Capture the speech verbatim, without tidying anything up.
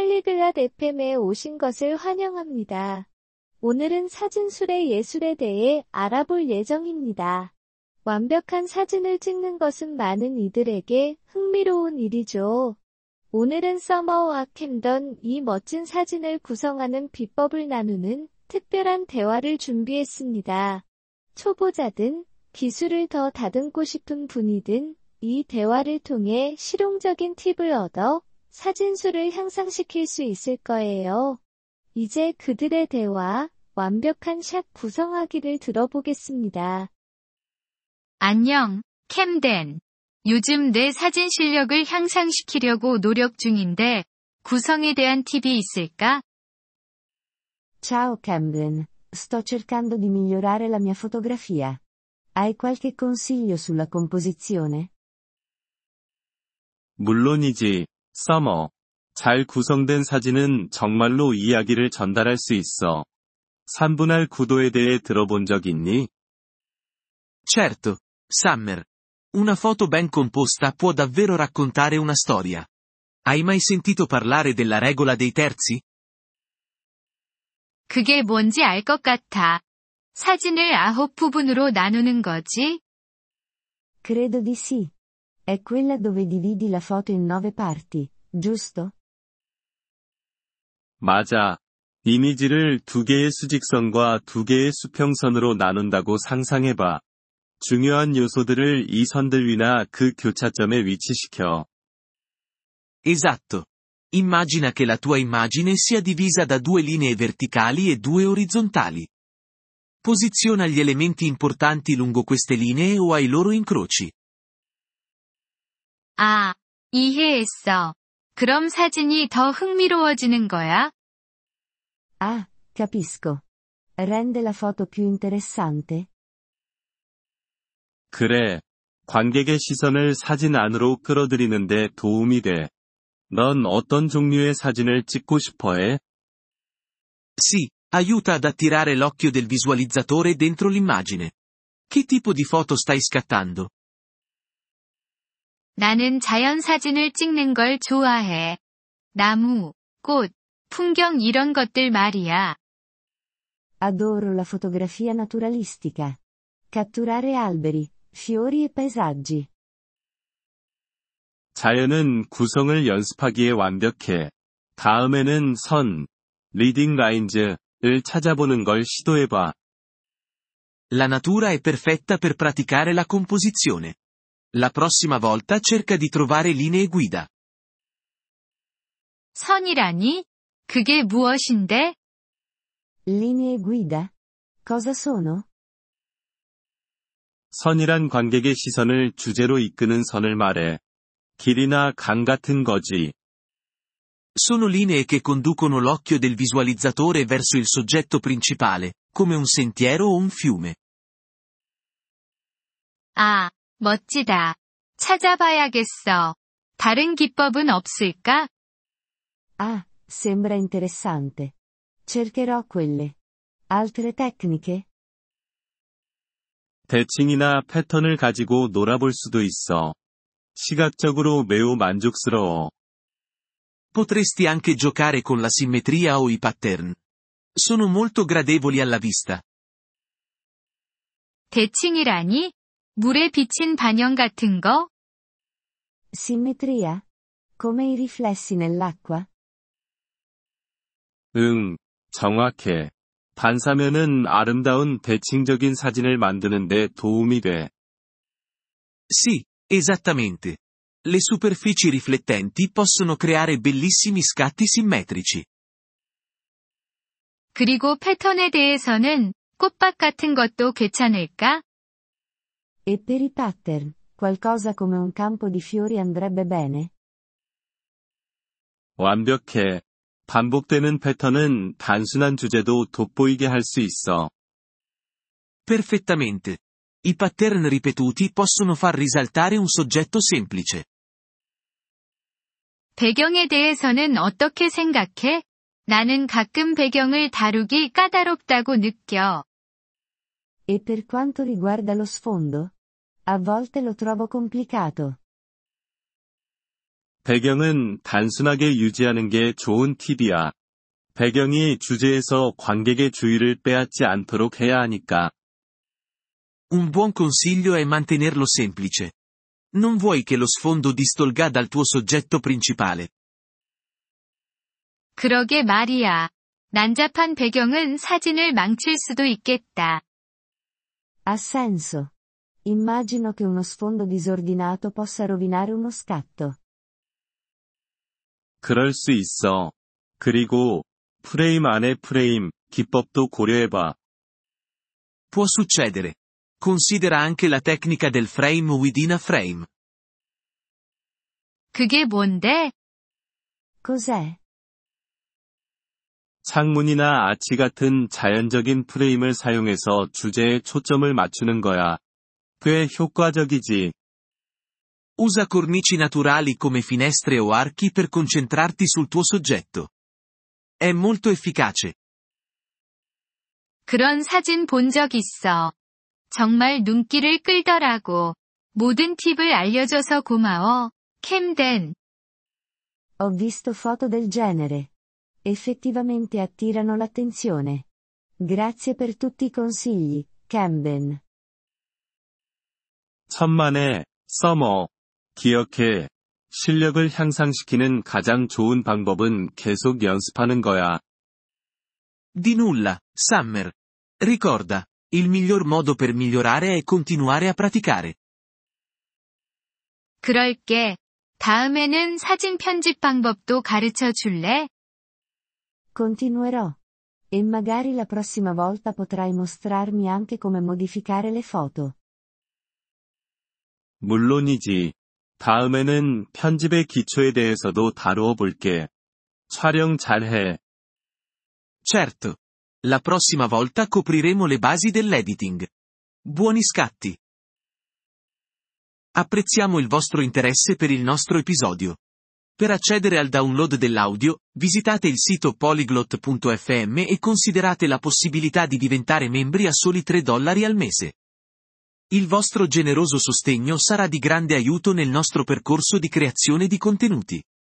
팔리글랏 에프엠에 오신 것을 환영합니다. 오늘은 사진술의 예술에 대해 알아볼 예정입니다. 완벽한 사진을 찍는 것은 많은 이들에게 흥미로운 일이죠. 오늘은 서머와 캠던 이 멋진 사진을 구성하는 비법을 나누는 특별한 대화를 준비했습니다. 초보자든 기술을 더 다듬고 싶은 분이든 이 대화를 통해 실용적인 팁을 얻어 사진술을 향상시킬 수 있을 거예요. 이제 그들의 대화, 완벽한 샷 구성하기를 들어보겠습니다. 안녕, 캠덴. 요즘 내 사진 실력을 향상시키려고 노력 중인데, 구성에 대한 팁이 있을까? Ciao Camden, sto cercando di migliorare la mia fotografia. Hai qualche consiglio sulla composizione? 물론이지, 서머. 잘 구성된 사진은 정말로 이야기를 전달할 수 있어. 삼분할 구도에 대해 들어본 적 있니? Certo, Summer. Una foto ben composta può davvero raccontare una storia. Hai mai sentito parlare della regola dei terzi? 그게 뭔지 알 것 같아. 사진을 아홉 부분으로 나누는 거지? Credo di sì. È quella dove dividi la foto in nove parti, giusto? 맞아. 이미지를 두 개의 수직선과 두 개의 수평선으로 나눈다고 상상해봐. 중요한 요소들을 이 선들 위나 그 교차점에 위치시켜. Esatto. Immagina che la tua immagine sia divisa da due linee verticali e due orizzontali. Posiziona gli elementi importanti lungo queste linee o ai loro incroci. 아, 이해했어. 그럼 사진이 더 흥미로워지는 거야? Ah, capisco. Rende la foto più interessante? 그래. 관객의 시선을 사진 안으로 끌어들이는데 도움이 돼. 넌 어떤 종류의 사진을 찍고 싶어 해? Sì, aiuta ad attirare l'occhio del visualizzatore dentro l'immagine. Che tipo di foto stai scattando? 나는 자연 사진을 찍는 걸 좋아해. 나무, 꽃, 풍경 이런 것들 말이야. Adoro la fotografia naturalistica. Catturare alberi, fiori e paesaggi. 자연은 구성을 연습하기에 완벽해. 다음에는 선, 리딩 라인즈를 찾아보는 걸 시도해봐. La natura è perfetta per praticare la composizione. La prossima volta cerca di trovare linee guida. 선이라니? 그게 무엇인데? Linee guida? Cosa sono? 선이란 관객의 시선을 주제로 이끄는 선을 말해. 길이나 강 같은 거지. Sono linee che conducono l'occhio del visualizzatore verso il soggetto principale, come un sentiero o un fiume. 아, 멋지다. 찾아봐야겠어. 다른 기법은 없을까? Ah, sembra interessante. Cercherò quelle. Altre tecniche? 대칭이나 패턴을 가지고 놀아볼 수도 있어. 시각적으로 매우 만족스러워. Potresti anche giocare con la simmetria o i pattern. Sono molto gradevoli alla vista. 대칭이라니? 물에 비친 반영 같은 거? Simmetria? Come i riflessi nell'acqua? 응, 정확해. 반사면은 아름다운 대칭적인 사진을 만드는데 도움이 돼. Sì, esattamente. Le superfici riflettenti possono creare bellissimi scatti simmetrici. 그리고 패턴에 대해서는 꽃밭 같은 것도 괜찮을까? E per i pattern, qualcosa come un campo di fiori andrebbe bene? 완벽해. 반복되는 패턴은 단순한 주제도 돋보이게 할 수 있어. Perfettamente. I pattern ripetuti possono far risaltare un soggetto semplice. 배경에 대해서는 어떻게 생각해? 나는 가끔 배경을 다루기 까다롭다고 느껴. E per quanto riguarda lo sfondo? A volte lo trovo complicato. 배경은 단순하게 유지하는 게 좋은 팁이야. 배경이 주제에서 관객의 주의를 빼앗지 않도록 해야 하니까. Un buon consiglio è mantenerlo semplice. Non vuoi che lo sfondo distolga dal tuo soggetto principale. 그러게 말이야. 난잡한 배경은 사진을 망칠 수도 있겠다. Ha senso. Immagino che uno sfondo disordinato possa rovinare uno scatto. 그럴 수 있어. 그리고 프레임 안에 프레임 기법도 고려해봐. Può succedere. Considera anche la tecnica del frame within a frame. 그게 뭔데? Cos'è? 창문이나 아치 같은 자연적인 프레임을 사용해서 주제에 초점을 맞추는 거야. 꽤 효과적이지. Usa cornici naturali come finestre o archi per concentrarti sul tuo soggetto. È molto efficace. 그런 사진 본 적 있어. 정말 눈길을 끌더라고. 모든 팁을 알려줘서 고마워, 캠덴. Ho visto foto del genere. Effettivamente attirano l'attenzione. Grazie per tutti i consigli, Camden. 천만에, 서머. 기억해. 실력을 향상시키는 가장 좋은 방법은 계속 연습하는 거야. Di nulla, Summer. Ricorda, il miglior modo per migliorare è continuare a praticare. 그럴게. 다음에는 사진 편집 방법도 가르쳐 줄래? Continuerò. E magari la prossima volta potrai mostrarmi anche come modificare le foto. 물론이지. 다음에는 편집의 기초에 대해서도 다루어 볼게. 촬영 잘해. Certo. La prossima volta copriremo le basi dell'editing. Buoni scatti. Apprezziamo il vostro interesse per il nostro episodio. Per accedere al download dell'audio, visitate il sito polyglot punto effe emme e considerate la possibilità di diventare membri a soli tre dollari al mese. Il vostro generoso sostegno sarà di grande aiuto nel nostro percorso di creazione di contenuti.